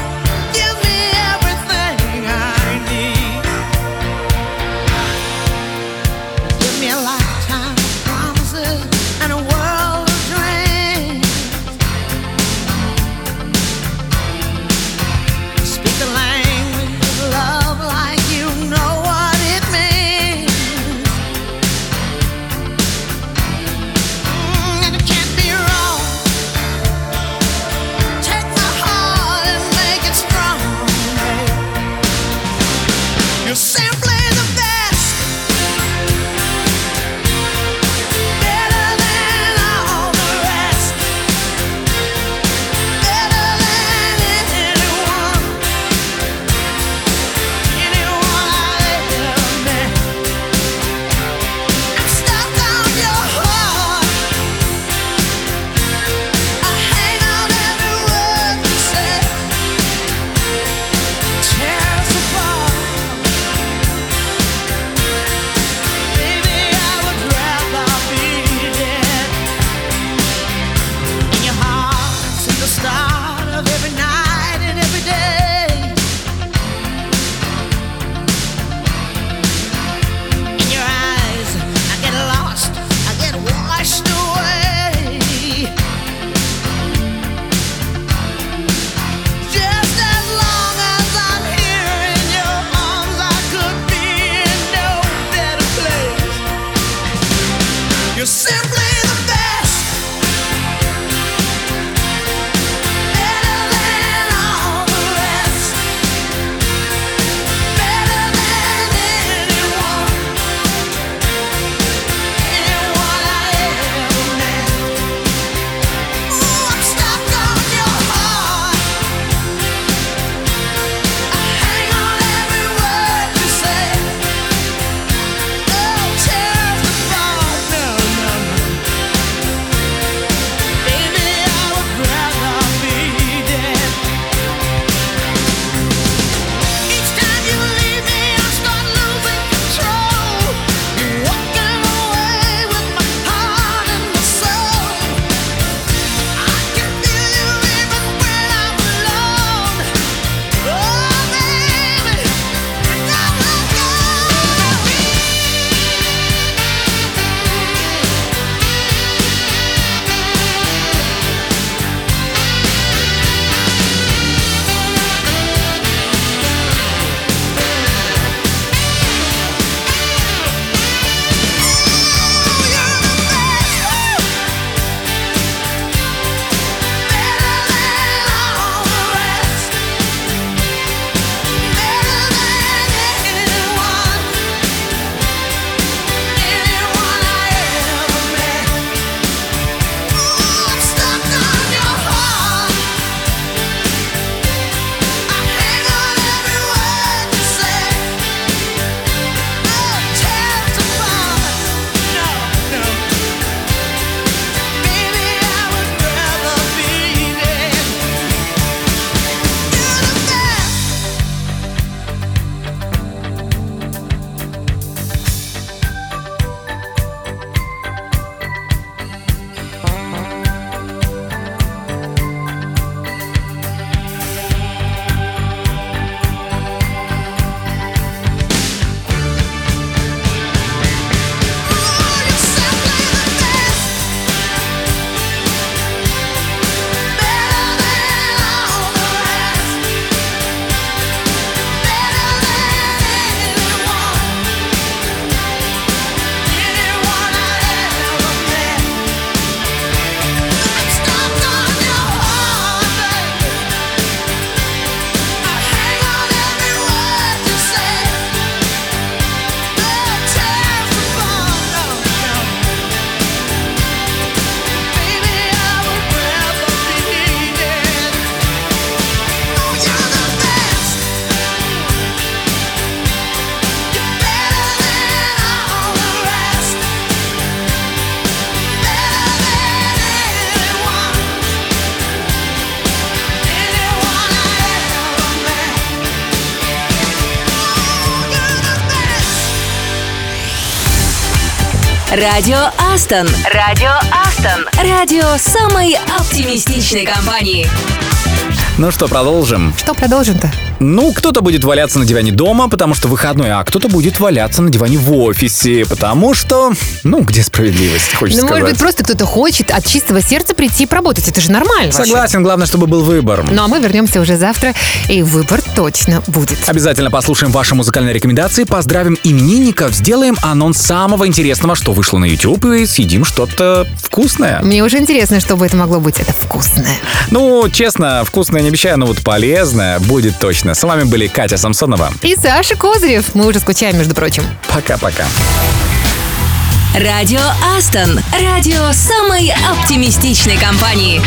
Speaker 1: Радио Астон. Радио Астон. Радио самой оптимистичной компании.
Speaker 2: Ну что, продолжим?
Speaker 3: Что продолжим-то?
Speaker 2: Ну, кто-то будет валяться на диване дома, потому что выходной, а кто-то будет валяться на диване в офисе, потому что, ну, где справедливость, хочется
Speaker 3: Ну,
Speaker 2: сказать.
Speaker 3: может быть, просто кто-то хочет от чистого сердца прийти и поработать. Это же нормально. вообще.
Speaker 2: Согласен, главное, чтобы был выбор.
Speaker 3: Ну, а мы вернемся уже завтра, и выбор точно будет.
Speaker 2: Обязательно послушаем ваши музыкальные рекомендации, поздравим именинников, сделаем анонс самого интересного, что вышло на YouTube, и съедим что-то вкусное.
Speaker 3: Мне уже интересно, что бы это могло быть. Это вкусное.
Speaker 2: Ну, честно, вкусное не обещаю, но вот полезное будет точно. С вами были Катя Самсонова.
Speaker 3: И Саша Козырев. Мы уже скучаем, между прочим.
Speaker 2: Пока-пока.
Speaker 1: Радио Астон. Радио самой оптимистичной компании.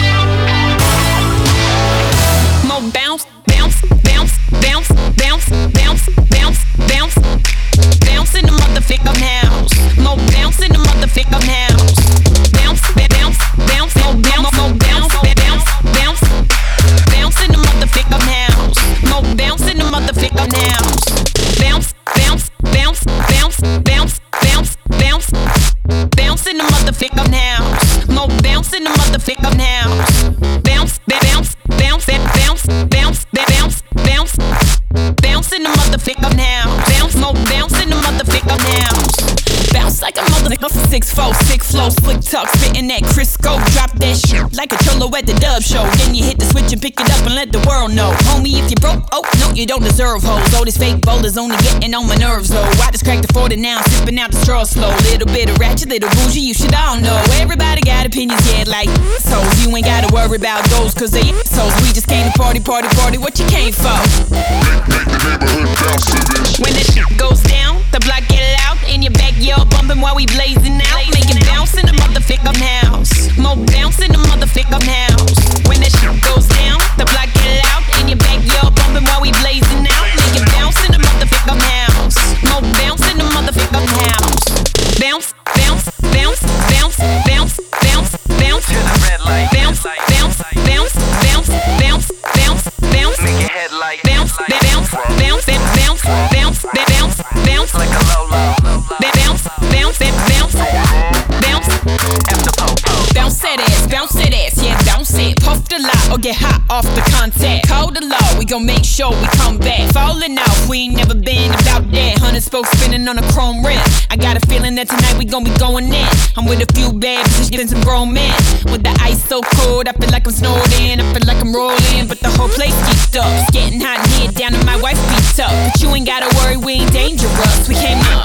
Speaker 7: More bounce, bounce, bounce, bounce, bounce, bounce, bounce, bounce, bounce in the motherfucking house. More bounce in the motherfucking house. Bounce, bounce, bounce, more bounce, more bounce, bounce, bounce, bounce in the motherfucking house. More bounce in the motherfucking house. Bounce, bounce, bounce, bounce, bounce, bounce, bounce, bounce in the motherfucking house. More bounce in the motherfucking house. Bounce, bounce, bounce, bounce, bounce, bounce, bounce, bounce in the motherfucking house. Bounce, more bounce in the motherfucking house. Bounce like a motherfucker, six four, six flow, slick talk, spitting that Crisco. Drop that shit like a cholo at the dub show. Then you hit the switch and pick it up and let the world know. Homie, if you broke, oh, no, you don't deserve hoes. All this fake bowlers only getting on my nerves, though. I just cracked the forty now, sipping out the straw slow. Little bit of ratchet, little bougie, you should all know. Everybody got opinions, yeah, like so. You ain't gotta worry about those, cause they assholes. We just came to party, party, party, what you came for? When the shit goes down, the block get loud. In your backyard bumping while we blazing out. Make it bounce in the motherfucking house. More bounce in the motherfucking house. When the shit goes down, the block get loud. In your backyard bumping while we blazing out. Make it bounce in the motherfucking house. More bounce in the motherfucking house. Bounce, bounce, bounce, bounce, bounce, bounce, bounce. To the red light. Bounce, bounce, bounce, bounce, bounce, bounce, bounce. Make your head like bounce, bounce, bounce, bounce, bounce, bounce, bounce. Like a low low. Bounce, bounce, bounce, bounce. After po-po. Bounce that ass, bounce that ass, yeah, bounce it. Puff the lot or get hot off the contact. Call the law, we gon' make sure we come back. Falling out, we ain't never been about that. Hundred spokes spinning on a chrome rim. I got a feeling that tonight we gon' be going in. I'm with a few bad bitches, getting some grown men. With the ice so cold, I feel like I'm snowed in. I feel like I'm rolling, but the whole place geeked up. It's getting hot in here, down to my wife beat up. But you ain't gotta worry, we ain't dangerous. We came up.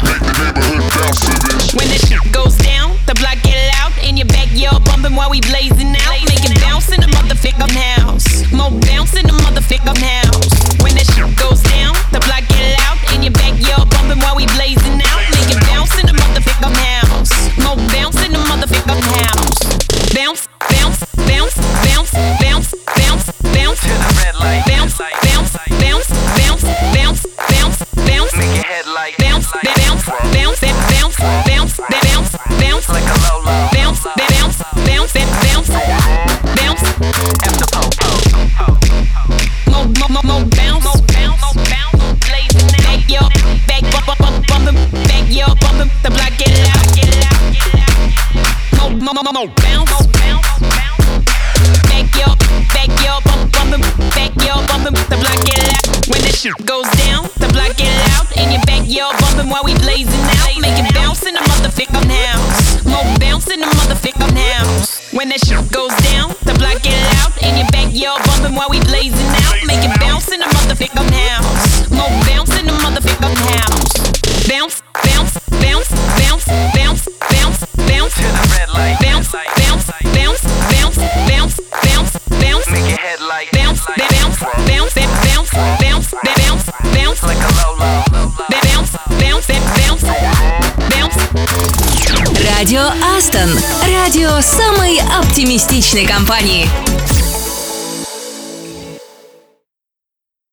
Speaker 7: When the shit goes down, the block get loud. In your backyard bumping while we blazing out. Make it bounce in the motherfucking house. More bounce in the motherfucking house. When the shit goes down, the block get loud. In your backyard bumping while we blazing out. Make it bounce in the motherfucking house. More bounce in the motherfucking house. Bounce, bounce, bounce, bounce, bounce, bounce, bounce. To the red light. Bounce, bounce, bounce, bounce, bounce, bounce, bounce. Make your head like bounce, bounce, bounce, bounce, bounce, bounce, bounce. Like a low low. Bounce, bounce, bounce, bounce, bounce. After po-po. More, more, more bounce, more bounce, more bounce. Blazing out. Back yo, back bump, bump, bump, bumping. Back yo, bumping. The block get loud, get loud, get loud. More, more, more, more bounce, more bounce, bounce. Back yo, back yo, bump, bumping. Back yo, bumping. The block get loud. When the shit goes down, the block get loud. In your backyard bumping while we blazing out. Make it bounce in the motherfucking house. More bounce in the motherfucking house. When that shit goes down, the block get loud. In your backyard bumping while we blazing out. Make it bounce in the motherfucking house. More bounce in the motherfucking house. Bounce, bounce, bounce, bounce, bounce, bounce, bounce. To the red light. Bounce, bounce, bounce, bounce, bounce, bounce, bounce. Make your head like bounce, bounce, bounce, bounce, bounce, bounce, bounce. Like a low low. Bounce, bounce, bounce, bounce.
Speaker 1: Радио Астон. Радио самой оптимистичной компании.